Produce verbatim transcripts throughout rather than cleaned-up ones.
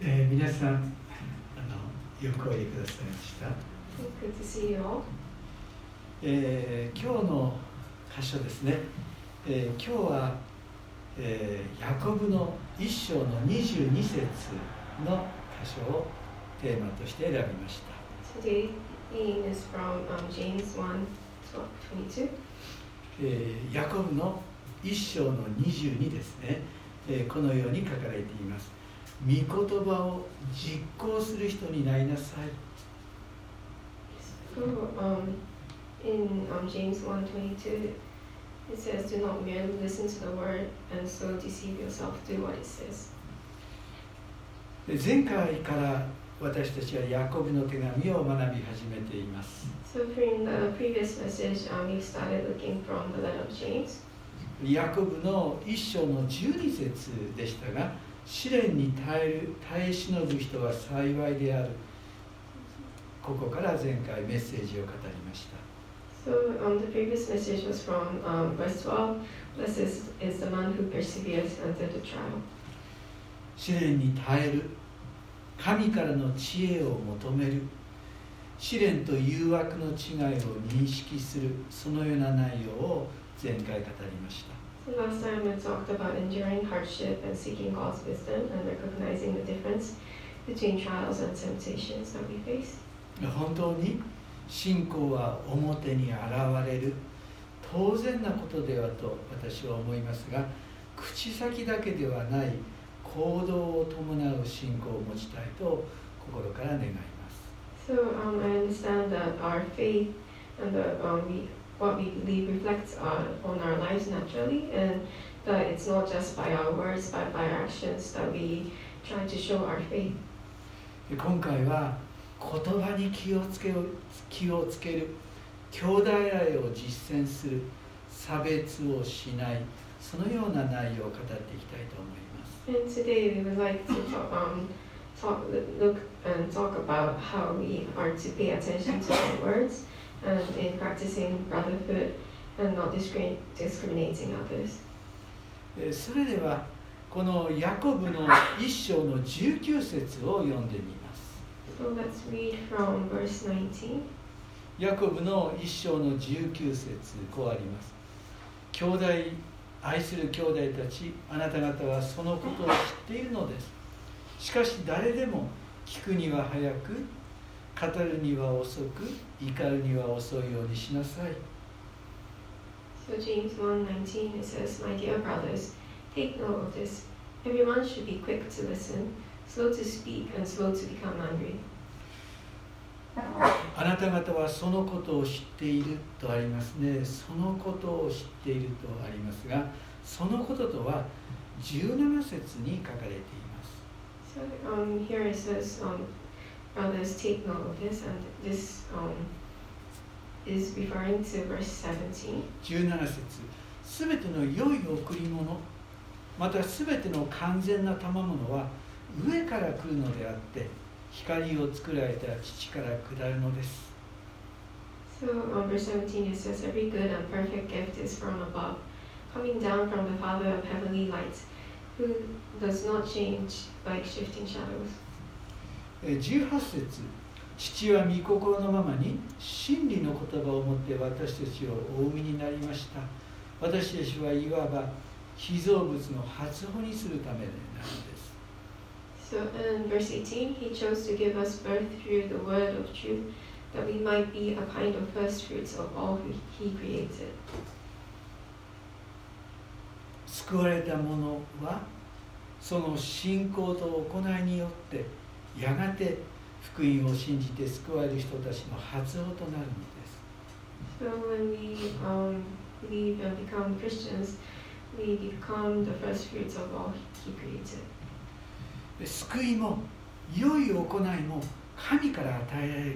えー、皆さんあのよくおいでくださいました。 Good to see you all. えー、今日の箇所ですね、えー、今日は、えー、ヤコブの一章のにじゅうに節の箇所をテーマとして選びました。 Today is from um, James one twenty-two. えー、ヤコブの一章のにじゅうにですね、えー、このように書かれています。御言葉を実行する人になりなさい。 So, um, in um, James one twenty-two, it says, "Do not merely listen to the word and so deceive yourself. Do what it says." 前回から私たちはヤコブの手紙を学び始めています。 So, from the previous message, um, we started looking from the letter of James. ヤコブの一章のじゅうに節でしたが、試練に耐える、耐え忍ぶ人は幸いである。ここから前回メッセージを語りました。 So, um, the previous message was from um, verse twelve. Blessed is, is the man who perseveres under the trial. 試練に耐える。神からの知恵を求める。試練と誘惑の違いを認識する。そのような内容を前回語りました。 So last time we talked about enduring hardship and seeking God's wisdom and recognizing the difference between trials and temptations that we face. 本当に信仰は表に現れる当然なことではと私は思いますが、口先だけではない行動を伴う信仰を持ちたいと心から願います。 So um, I understand that our faith and the, um, we what we believe reflects on, on our lives naturally, and that it's not just by our words, but by our actions that we try to show our faith. 今回は言葉に気をつける、気をつける、兄弟愛を実践する、差別をしない、そのような内容を語っていきたいと思います。 And today we would like to talk, um, talk, look and talk about how we are to pay attention to our words. And in practicing brotherhood and not discriminating others. それではこのヤコブの一章のじゅうきゅう節を読んでみます。 So let's read from verse nineteen. ヤコブの一章のじゅうきゅう節、こうあります。兄弟、愛する兄弟たち、あなた方はそのことを知っているのです。しかし誰でも聞くには早く、語るには遅く、怒るには遅いようにしなさい。 So James one nineteen, it says, "My dear brothers, take note of this. Everyone should be quick to listen, slow to speak, and slow to become angry." あなた方はそのことを知っているとありますね。そのことを知っているとありますが、そのこととはじゅうなな節に書かれています。 So um, here it says, um, brothers, take note of this, and this um, is referring to verse seventeen. じゅうなな節、すべての良い贈り物、またすべての完全な賜物は上から来るのであって、光を作られた父から下るのです。 So um, verse seventeen, it says, "Every good and perfect gift is from above, coming down from the Father of heavenly lights, who does not change like shifting shadows." じゅうはち節、父は御心のままに真理の言葉を持って私たちをお産みになりました。私たちはいわば被造物の初穂にするためなのです。 So in verse eighteen, he chose to give us birth through the word of truth, that we might be a kind of first fruits of all he created. 救われた者はその信仰と行いによってやがて福音を信じて救われる人たちの初歩となるのです。 So when we um, believe and become Christians, we become the first fruits of all he created. 救いも良い行いも神から与えられるのです。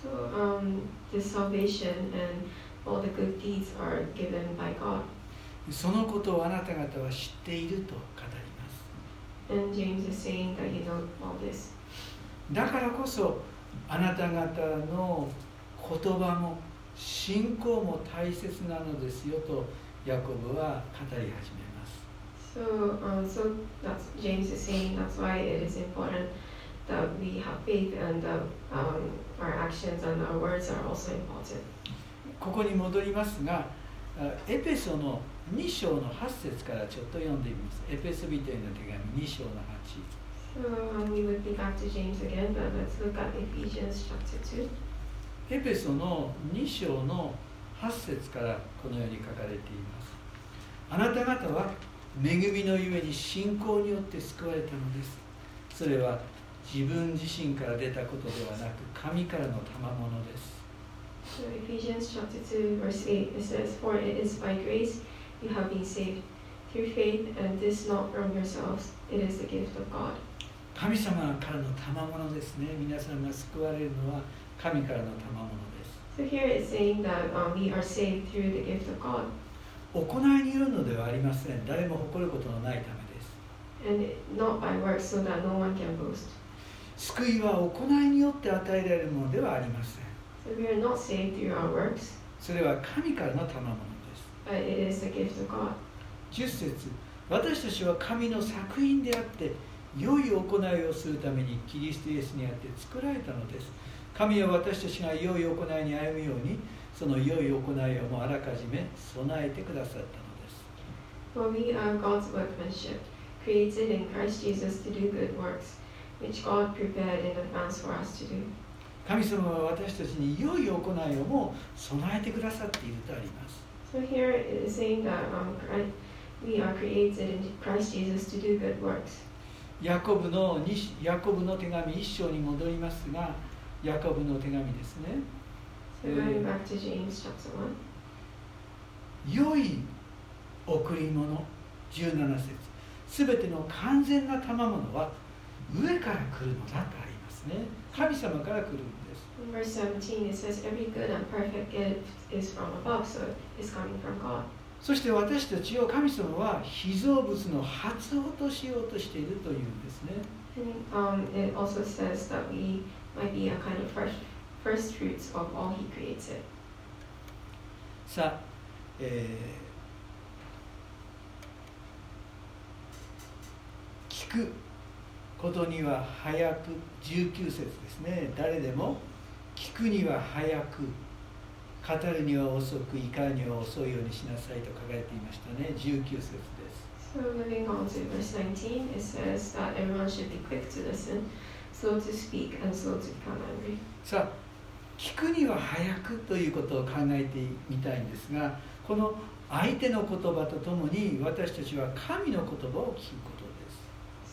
So um, the salvation and all the good deeds are given by God. そのことをあなた方は知っていると語ります。 And James is saying that you know all this. だからこそあなた方の言葉も信仰も大切なのですよとヤコブは語り始めます。 So So, um, so that's James is saying that's why it is important that we have faith and that um, our actions and our words are also important. ここに戻りますが、エペソのに章のはち節からちょっと読んでみます。エペソビトへの手紙に章のはち。 So um, we would be back to James again, but let's look at Ephesians chapter two. エペソのに章のはち節からこのように書かれています。あなた方は恵みのゆえに信仰によって救われたのです。それは自分自身から出たことではなく神からの賜物です。 So Ephesians chapter two verse eight, it says, For it is by grace you have been saved, through faith, and this not from yourselves, it is the gift of God. 神様からの賜物ですね。皆さんが救われるのは神からの賜物です。 So here it's saying that um, we are saved through the gift of God. 行いによるのではありません。誰も誇ることのないためです。 And not by works, so that no one can boast. 救いは行いによって与えられるものではありません。 So we are not saved through our works, それは神からの賜物です。 but it is the gift of God. じゅっ節、私たちは神の作品であって良い行いをするためにキリストイエスにあって作られたのです。神は私たちが良い行いに歩むようにその良い行いをもあらかじめ備えてくださったのです。 For we are God's workmanship, created in Christ Jesus to do good works, which God prepared in advance for us to do. 神様は私たちに良い行いをも備えてくださっているとあります。 So here it is saying that um, Christ, we are created in Christ Jesus to do good works. ヤコブのヤコブの手紙一章に戻りますが、ヤコブの手紙ですね。 So going back to James chapter one. 良い贈り物じゅうなな節、すべての完全な賜物は上から来るのだとありますね。神様から来るんです。 In verse seventeen it says, Every good and perfect gift is from above, so it is coming from God. そして私たちを神様は被造物の初音としようとしているというんですね。 And, um, it also says that we might be a kind of first, first fruits of all He created. さあ、えー、聞くことには早く、じゅうきゅう節ですね。誰でも聞くには早く、語るには遅く、怒るには遅いようにしなさいと書かれていましたね。じゅうきゅう節です。 So moving on to verse nineteen, it says that everyone should be quick to listen, slow to speak, and slow to become angry. さあ、聞くには早くということを考えてみたいんですが、この相手の言葉とともに私たちは神の言葉を聞くことです。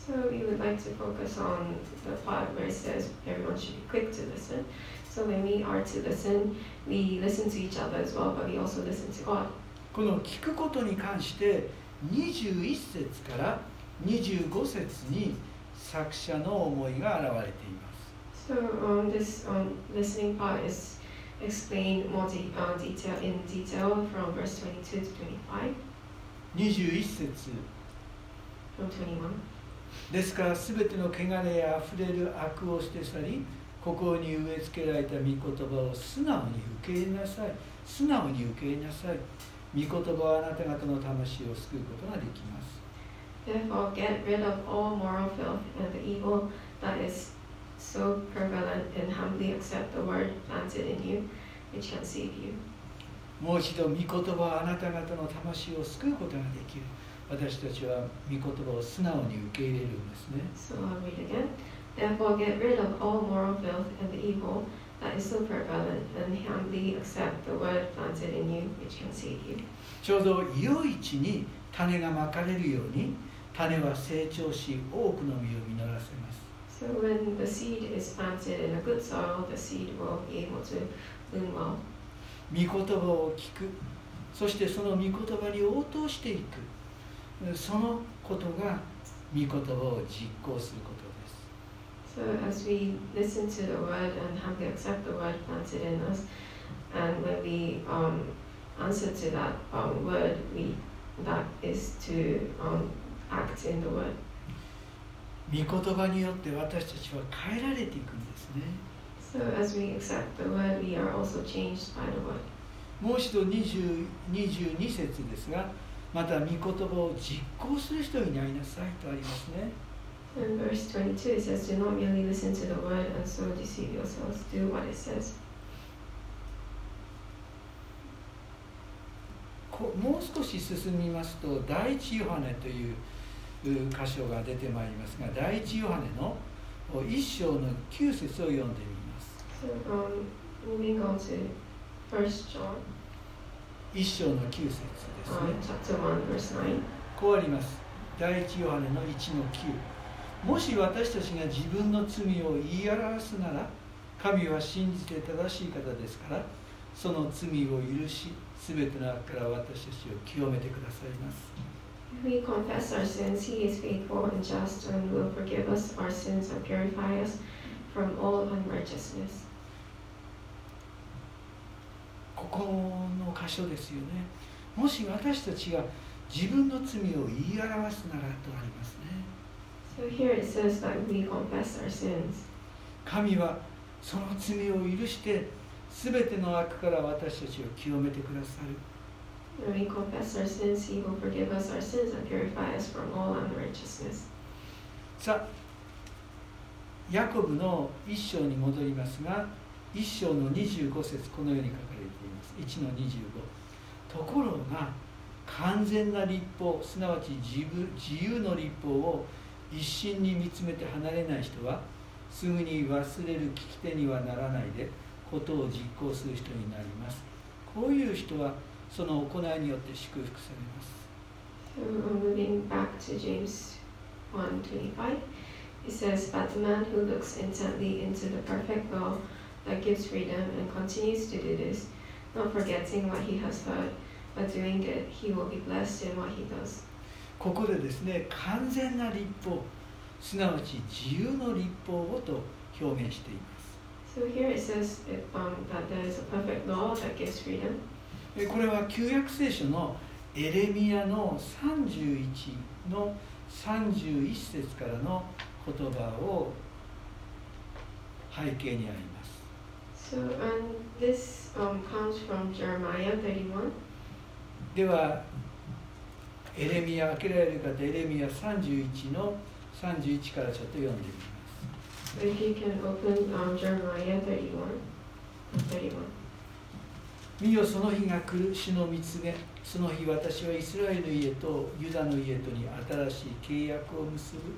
So we would like to focus on the part where it says everyone should be quick to listen. So when we are to listen, we listen to each other as well, but we also listen to God. この聞くことに関してにじゅういち節からにじゅうご節に作者の思いが現れています。 So um, this um, listening part is explained more de- uh, detail in detail from verse twenty-two to twenty-five. にじゅういち節 From twenty-one. ですからすべての汚れやあふれる悪を捨て去り、心に植え付けられた御言葉を素直に受け入れなさい。素直に受け入れなさい。御言葉はあなた方の魂を救うことができます。 Therefore, get rid of all moral filth and the evil that is so prevalent, and humbly accept the word planted in you, which can save you. もう一度、御言葉はあなた方の魂を救うことができる。私たちは御言葉を素直に受け入れるんですね。 So I'll read again. Therefore, get rid of all moral filth and the evil that is so prevalent, and humbly accept the word planted in you, which can save you. ちょうど良い地に種がまかれるように、種は成長し、多くの実を実らせます。 So when the seed is planted in a good soil, the seed will be able to bloom well. 御言葉を聞く、そしてその御言葉に応答していく。そのことが御言葉を実行することです。 So as we listen to the word and humbly accept the word planted in us, and when we um, answer to that um, word, we that is to um, act in the word. 御言葉によって私たちは変えられていくんですね。 So as we accept the word, we are also changed by the word. もう一度にじゅうに節ですが、 また御言葉を実行する人になりなさいとありますね。 In verse twenty-two, it says, "Do not merely listen to the word and so deceive yourselves. Do what it says." こもう少し進みますと、第一ヨハネという箇所が出てまいりますが、第一ヨハネの一章の九節を読んでみます。 So, um, moving on to First John, 一章の九節ですね。 um, chapter one, verse nine. こうあります。第一ヨハネのいちのきゅう。もし私たちが自分の罪を言い表すなら、神は真実で正しい方ですから、その罪を許し、すべての悪から私たちを清めてくださいます。 If we confess our sins, He is faithful and just and will forgive us our sins and purify us from all unrighteousness. ここの箇所ですよね。もし私たちが自分の罪を言い表すならとありますね。 So here it says that we confess our sins. 神はその罪を許して、すべての悪から私たちを清めてくださる。 When we confess our sins, He will forgive us our sins and purify us from all unrighteousness. さあ、ヤコブの一章に戻りますが、一章のにじゅうご節、このように書かれています。いちのにじゅうご。ところが、完全な律法、すなわち自分自由の律法を一心に見つめて離れない人は、すぐに忘れる聞き手にはならないで、ことを実行する人になります。こういう人は、その行いによって祝福されます。 So, moving back to James one twenty-five, it says, "But the man who looks intently into the perfect law that gives freedom and continues to do this, not forgetting what he has heard, but doing it, he will be blessed in what he does." ここでですね、完全な律法、すなわち自由の律法をと表現しています。 So here it says um, that there is a perfect law that gives freedom. これは旧約聖書のエレミヤのさんじゅういちのさんじゅういち節からの言葉を背景にあります。 So, and this um, comes from Jeremiah thirty-one. では、エレミヤ、開けられる方、エレミヤさんじゅういちのさんじゅういちからちょっと読んでみます。 So if you can open um, Jeremiah thirty-one. thirty-one. 見よ、その日が来る、主の蜜げ。その日、私はイスラエルの家とユダの家とに新しい契約を結ぶ。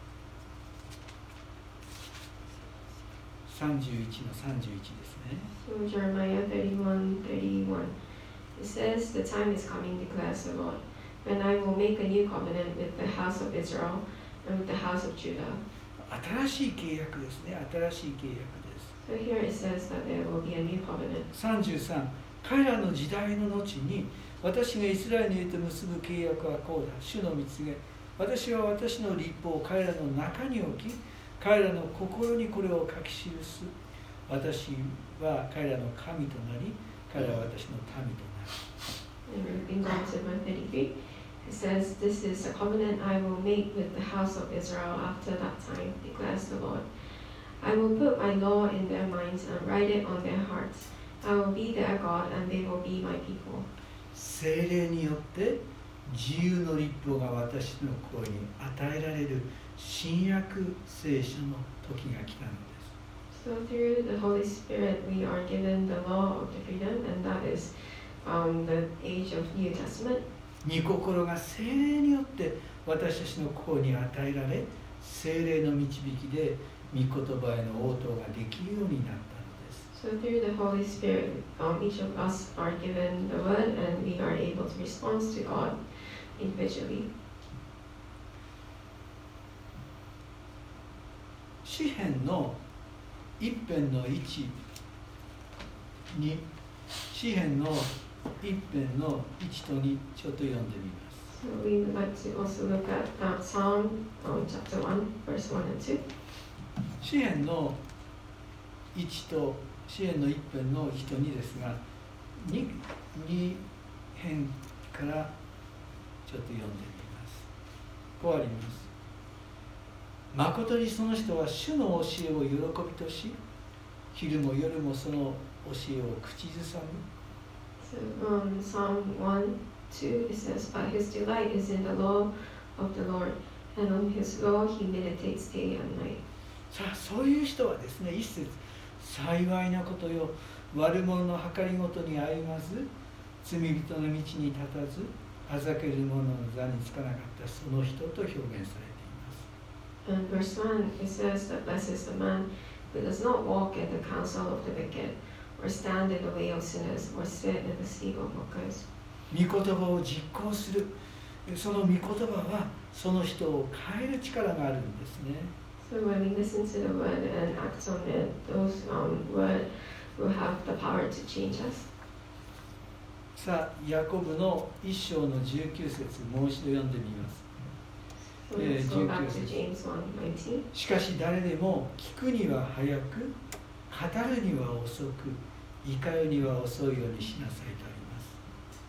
さんじゅういちのさんじゅういちですね。 So Jeremiah thirty-one, thirty-one. It says, "The time is coming, declares the Lord, when I will make a new covenant with the house of Israel and with the house of Judah." 新しい契約ですね。新しい契約です。 So here it says that there will be a new covenant. さんじゅうさん、彼らの時代の後に、私がイスラエルの家と結ぶ契約はこうだ。主の蜜げ。私は私の律法を彼らの中に置き、彼らの心にこれを書き記す。私は彼らの神となり、彼らは私の民となる。 And moving on to verse thirty-three, it says, "This is a covenant I will make with the house of Israel after that time, declares the Lord. I will put my law in their minds and write it on their hearts. I will be their God and they will be my people." 聖霊によって自由の律法が私の心に与えられる新約聖書の時が来たのです。 So through the Holy Spirit we are given the law of the freedom, and that is um, the age of New Testament. 御心が聖霊によって私たちの心に与えられ、聖霊の導きで御言葉への応答ができるようになったのです。 So through the Holy Spirit, um, each of us are given the word, and we are able to respond to God individually. 詩編の一編のいちに、詩編の一編のいちとにちょっと読んでみます。 So we would like to also look at uh, Psalm um, chapter one, verse one and two. 詩編のいちと詩編の一編のいちとにですが、に編からちょっと読んでみます。こうあります。誠にその人は主の教えを喜びとし、昼も夜もその教えを口ずさむ。 So um, Psalm one, two, it says, But his delight is in the law of the Lord, and on his law he meditates day and night. さあ、そういう人はですね、一節、幸いなことよ、悪者の計りごとに歩まず、罪人の道に立たず、あざける者の座につかなかったその人と表現されています。 And verse one, it says that blessed is the man who does not walk in the counsel of the wicked, or stand in the way of sinners, or sit in the seat of mockers. 御言葉を実行する。その御言葉はその人を変える力があるんですね。 So when we listen to the word and act on it, those um, words will have the power to change us. さあ、ヤコブの一章のじゅうきゅう節、もう一度読んでみます。 So let's go back to James one nineteen. しかし誰でも聞くには早く、語るには遅く、怒るには遅いようにしなさいとあります。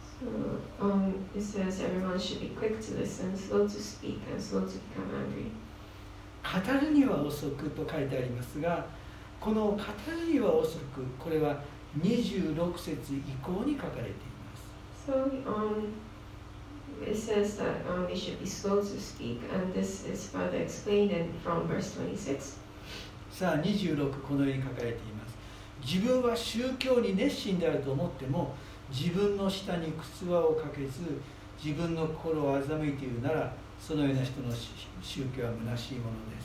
So um, it says everyone should be quick to listen, slow to speak, and slow to become angry. 語るには遅くと書いてありますが、この語るには遅く、これはにじゅうろく節以降に書かれています。 So um, it says that um, we should be slow to speak, and this is further explained in, from verse twenty-six. さあ、にじゅうろく、このように書かれています。自分は宗教に熱心であると思っても、自分の下に靴輪をかけず、自分の心を欺いているなら、そのような人の宗教は虚しいものです。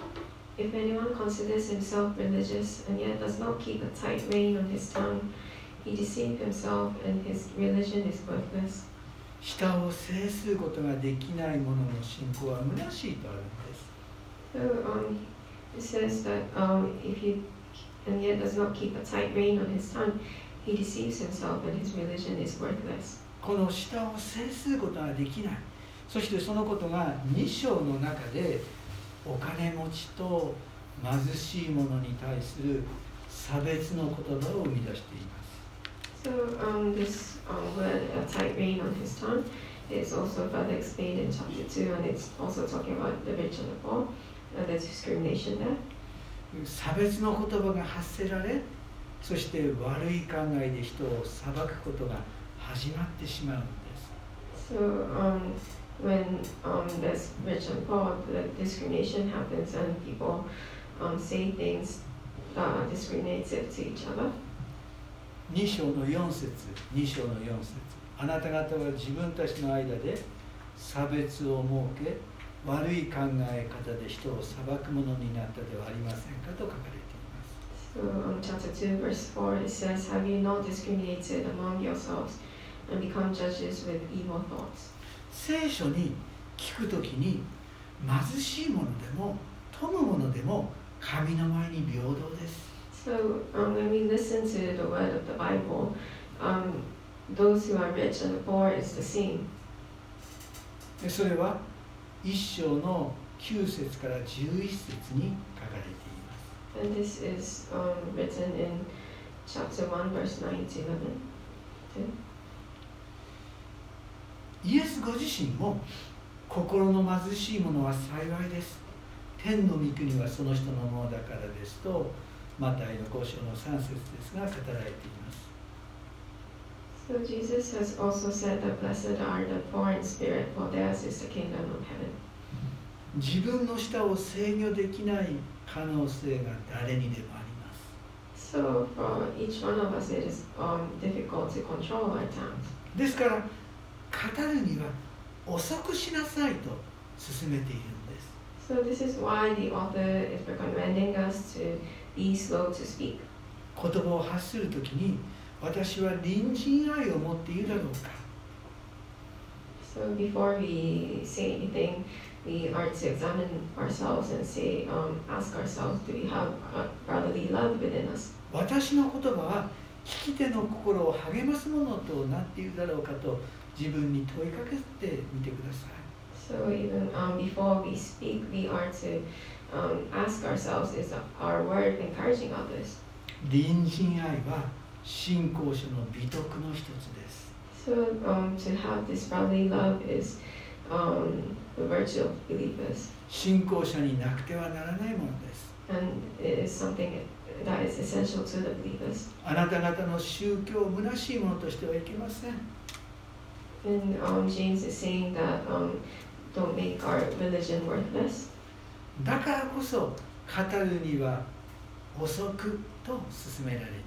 If anyone considers himself religious and yet does not keep a tight rein on his tongue, he deceives himself and his religion is worthless. 舌を制することができない者の信仰は虚しいとあるんです。 So um, it says that um, if he and yet does not keep a tight rein on his tongue, he deceives himself and his religion is worthless. この舌を制することができない。そしてそのことがに章の中でお金持ちと貧しい者に対する差別の言葉を生み出しています。 So um, this um, word, a tight rein on his tongue, is also further explained in chapter two, and it's also talking about the rich and the poor, and the discrimination there. 差別の言葉が発せられ、そして悪い考えで人を裁くことが始まってしまうんです。 So um, when um, there's rich and poor, the discrimination happens, and people um, say things that are discriminative to each other. に章のよん節、に章のよん節、あなた方は自分たちの間で差別を設け、悪い考え方で人を裁くものになったではありませんかと書かれています。 So um, chapter two, verse four, it says, Have you not discriminated among yourselves and become judges with evil thoughts? 聖書に聞くときに貧しい者でも富む者でも神の前に平等です。 So um, when we listen to the word of the Bible, um, those who are rich and the poor is the same. それは一章のきゅう節からじゅういち節に書かれています。 And this is um, written in chapter one, verse nine to eleven. イエスご自身も心の貧しい者は幸いです。天の御国はその人のものだからですと、マタイのご章のさん節ですが語られています。 So Jesus has also said that blessed are the poor in spirit, for theirs is the kingdom of heaven. 自分の舌を制御できない可能性が誰にでもあります。 So for each one of us, it is um, difficult to control our tongues. ですから語るには遅くしなさいと勧めているんです。 So this is why the author is recommending us to be slow to speak. 言葉を発するときに私は隣人愛を持っているだろうか。 So before we say anything, we are to examine ourselves and say, um, ask ourselves, do we have a brotherly love within us? 私の言葉は聞き手の心を励ますものとなっているだろうかと自分に問いかけてみてください。 So even um, before we speak, we are to um, ask ourselves, is our word encouraging others? 隣人愛は信仰者の美徳の一つです。 So um, to have this brotherly love is um, the virtue of believers. 信仰者になくてはならないものです。 And it is something that is essential to the believers. あなた方の宗教を虚しいものとしてはいけません。 And um, James is saying that um, don't make our religion worthless. だからこそ語るには遅くと勧められています。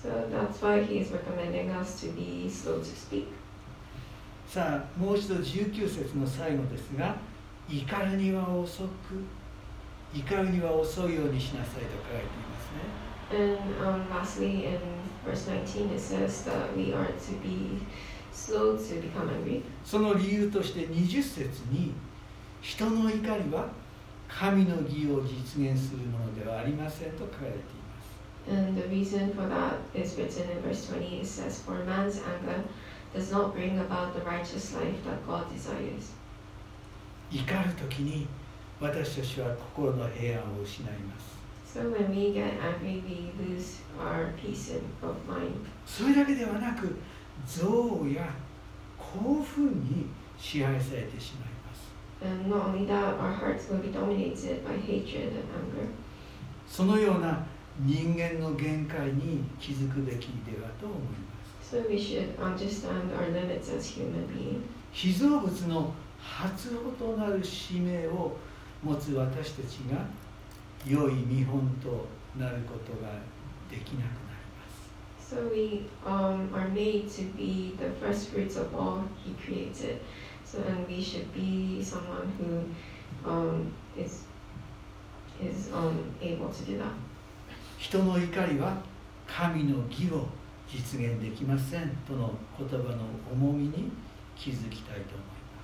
So that's why he is recommending us to be slow to speak. さあもう一度じゅうきゅう節の最後ですが、怒るには遅く、怒るには遅いようにしなさいと書いていますね。 And um, lastly, in verse nineteen, it says that we are to be slow to become angry. その理由としてにじゅう節に、人の怒りは神の義を実現するものではありませんと書かれています。 And the reason for that is written in verse twenty. It says, "For man's anger does not bring about the righteous life that God desires." 怒るときに私たちは心の平安を失います。 So when we get angry, we lose our peace of mind. それだけではなく、憎悪や興奮に支配されてしまいます。 And not only that, our hearts will be dominated by hatred and anger. そのような人間の限界に気づくべきではと思います。 So we should understand our limits as human beings. 被造物の初歩となる使命を持つ私たちが良い見本となることができなくなります。 So we um, are made to be the first fruits of all He created. So and we should be someone who um, is is um, able to do that. 人の怒りは神の義を実現できませんとの言葉の重みに気づきたいと思います。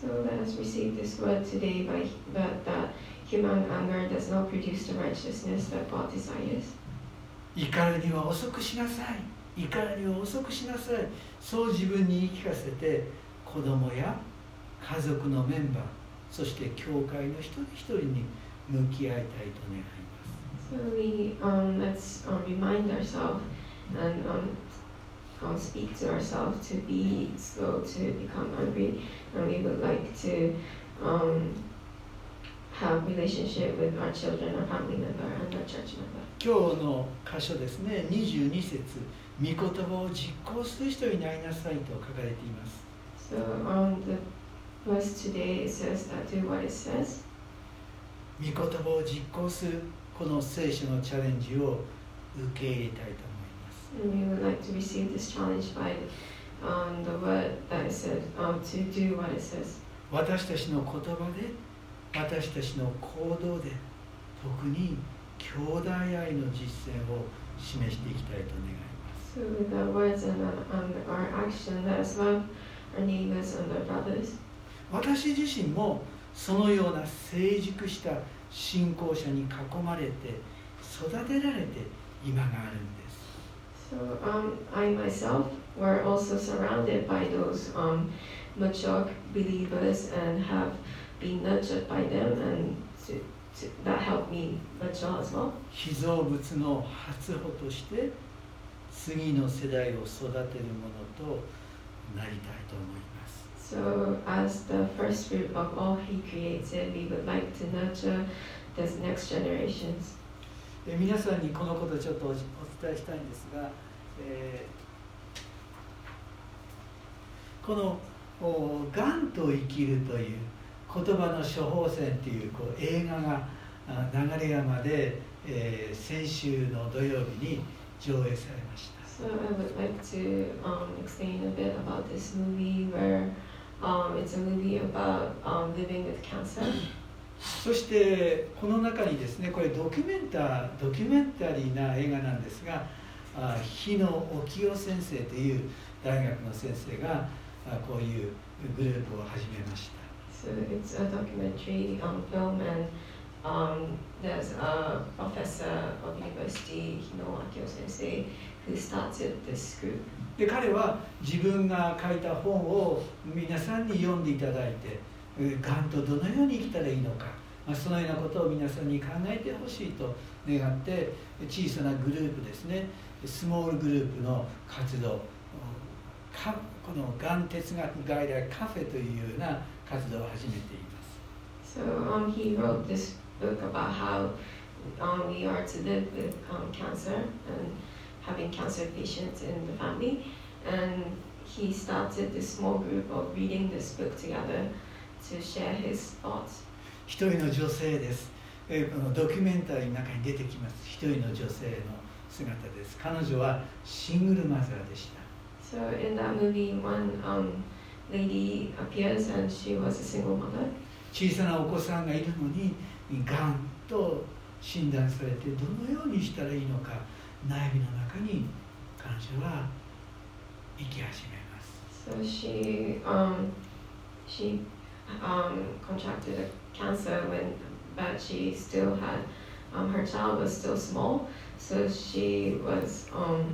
So let us receive this word today by that, that human anger does not produce the righteousness that God desires. 怒るには遅くしなさい、怒るには遅くしなさい、そう自分に言い聞かせて、子供や家族のメンバー、そして教会の一人一人に向き合いたいと願います。 So we um, let's um, remind ourselves and um, um, speak to ourselves to be slow to become angry, and we would like to um, have relationship with our children, our family member, and our church member. 今日の箇所ですね、にじゅうに節、御言葉を実行する人になりなさいと書かれています。 So um, the verse today it says that do what it says. 御言葉を実行するこの聖書のチャレンジを受け入れたいと思います。 And we would like to receive this challenge by um, the word that it says um, to do what it says. 私たちの言葉で、私たちの行動で、特に兄弟愛の実践を示していきたいと願います。 So with our words and, uh, and our action, let us love our neighbors and our brothers. 私自身もそのような成熟した信仰者に囲まれて育てられて今があるんです。 So um, I myself were also surrounded by those um, mature believers and have been nurtured by them, and to, to, that helped me mature as well. 被造物の初歩として次の世代を育てるものとなりたいと思います。 So as the first fruit of all He created, we would like to nurture this next generations. え皆さんにこのことをちょっとお伝えしたいんですが、えー、この「がんと生きる」という言葉の処方箋という、こう映画が流山で、えー、先週の土曜日に上映されました。 So I would like to um, explain a bit about this movie where um, it's a movie about um, living with cancer. そしてこの中にですね、これドキュメンタドキュメンタリーな映画なんですが、日野沖夫先生という大学の先生がこういうグループを始めました。 So it's a documentary um, film, and um, there's a professor of university, Hino Akio Sensei, who started this group. で彼は自分が書いた本を皆さんに読んでいただいて、がんとどのように生きたらいいのか、まあ、そのようなことを皆さんに考えてほしいと願って、小さなグループですね、スモールグループの活動、かこのがん哲学外来カフェというような活動を始めています。 So um, he wrote this book about how um, we are to live with um, cancer and having cancer patients in the family, and he started this small group of reading this book together to share his thoughts. 一人の女性です。えーこのドキュメンタリーの中に出てきます。一人の女性の姿です。彼女はシングルマザーでした。 So in that movie, one um, lady appears and she was a single mother. 小さなお子さんがいるのに、がんと診断されてどのようにしたらいいのか悩みの中に彼女は生き始めます。 So she um, she um, contracted a cancer when, but she still had um, her child was still small, so she was um,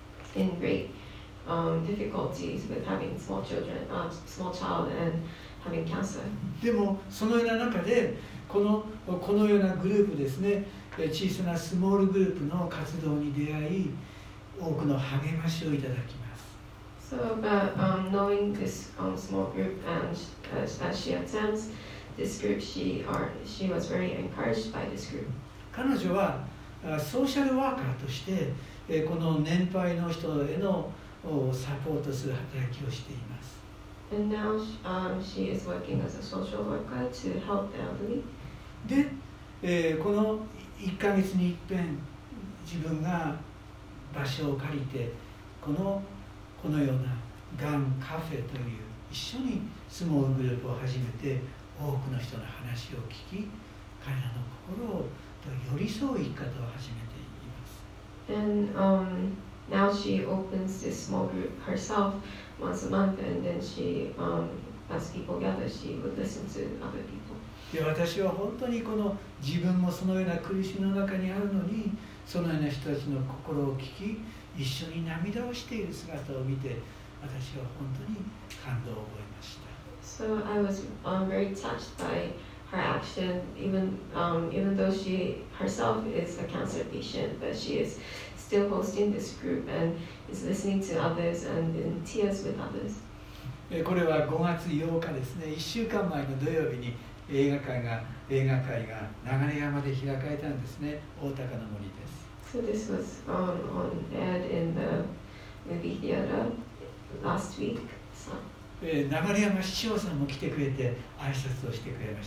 in great um, difficulties with having small children, uh, small child, and having cancer. でもそのような中でこのこのようなグループですね、小さなスモールグループの活動に出会い、多くの励ましをいただきます。 So, but um, knowing this um, small group and as, as she attends this group, she are she was very encouraged by this group. 彼女はソーシャルワーカーとしてこの年配の人へのサポートする働きをしています。 And now um, she is working as a social worker to help the elderly. で、えー、このいっかげつに一遍自分が場所を借りてこのこのようながんカフェという一緒にスモールグループを始めて多くの人の話を聞き彼らの心を寄り添う生き方を始めています。 And um, now she opens this small group herself once a month, and then she, um, as people gather, she would listen to other people. で私は本当にこの自分もそのような苦しみの中にあるのにそのような人たちの心を聞き一緒に涙をしている姿を見て私は本当に感動を覚えました。 So I was um, very touched by her action, even um, even though she herself is a cancer patient, but she is still hosting this group and is listening to others and in tears with others. これはごがつようかですね、いっしゅうかんまえの土曜日に映画会が映画会が流山で開かれたんですね。大高の森です。 So this was um, on aired in the movie theater last week. So. 流山市長さんも来てくれて挨拶をしてくれました。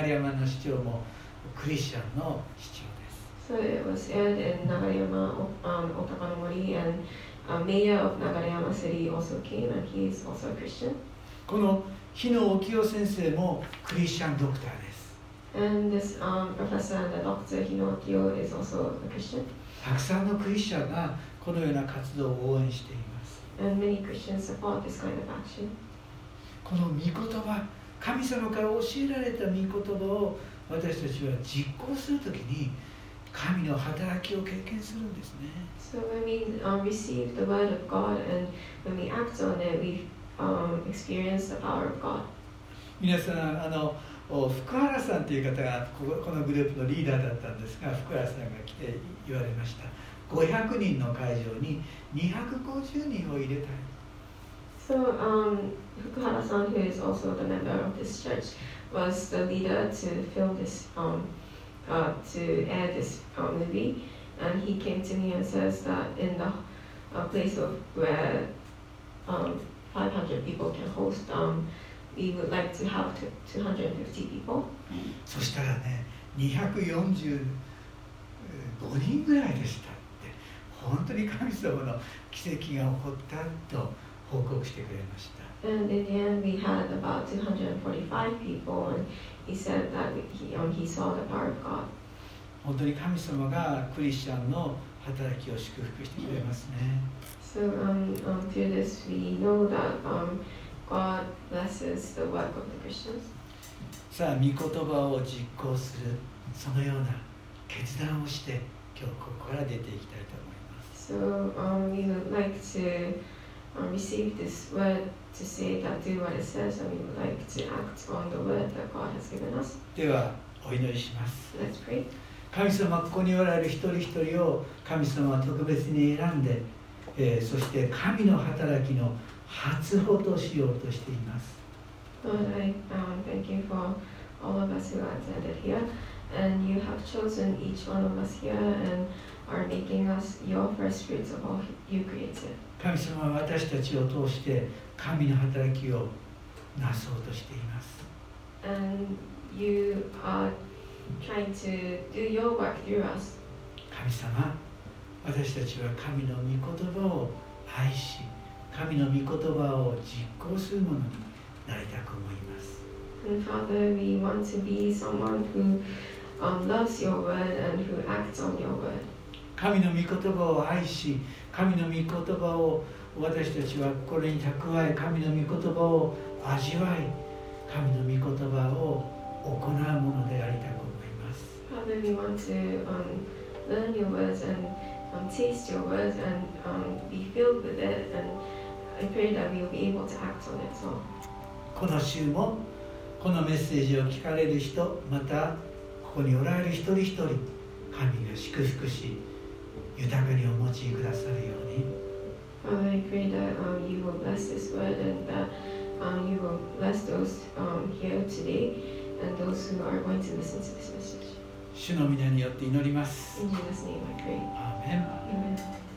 流山の市長もクリスチャンの市長です。 So it was aired in Nagareyama, um, Otakanomori, and uh, mayor of Nagareyama City also came, and he is also a Christian. この日野沖夫先生もクリスチャンドクターです。 And this um, professor and the doctor Hino Akio is also a Christian. たくさんのクリスチャンがこのような活動を応援しています。 And many Christians support this kind of action. この御言葉、神様から教えられた御言葉を私たちは実行するときに神の働きを経験するんですね。 So when we um, receive the word of God and when we act on it, we um, experience the power of God. 皆さん、あの福原さんという方がこのグループのリーダーだったんですが、福原さんが来て言われました。ごひゃくにんの会場ににひゃくごじゅうにんを入れたい。 So um, Fukuhara-san, who is also the member of this church, was the leader to film this, um, uh, to air this uh, movie, and he came to me and says that in the uh, place of where um, five hundred people can host, um, we would like to have two hundred fifty people. そしたらね、にひゃくよんじゅうごにんぐらいでしたって、本当に神様の奇跡が起こったと報告してくれました。 And in the end, we had about two hundred forty-five people, and he said that he, um, he saw the power of God. 本当に神様がクリスチャンの働きを祝福してくれますね。 So um, um, through this, we know that um, God blesses the work of the Christians. さあ、御言葉を実行するそのような決断をして今日ここから出ていきたいと思います。 So um, we would like to um, receive this word to say that do what it says, and we would like to act on the word that God has given us. ではお祈りします。 Let's pray. 神様、ここにおられる一人一人を神様は特別に選んで、えー、そして神の働きの初歩としようとしています。 Lord, I um, thank you for all of us who are attended here, and you have chosen each one of us here and are making us your first fruits of all you created. 神様は私たちを通して神の働きをなそうとしています。 And you are trying to do your work through us. 神様、私たちは神の御言葉を愛し、神の御言葉を実行するものになりたく思います。 And Father, we want to be someone who um, loves your word and who acts on your word. 神の御言葉を愛し、神の御言葉を私たちはこれに蓄え、神の御言葉を味わい、神の御言葉を行うものでありたく思います。 Father, we want to um, learn your words and um, taste your words and um, be filled with it. And I pray that we will be able to act on it. So. この週もこのメッセージを聞かれる人、またここにおられる一人一人、神が祝福し、豊かにお持ちくださるように。 Father, I pray that um, you will bless this word and that um, you will bless those um, here today and those who are going to listen to this message. 主の皆によって祈ります。 In Jesus' name I pray. アーメン。 Amen.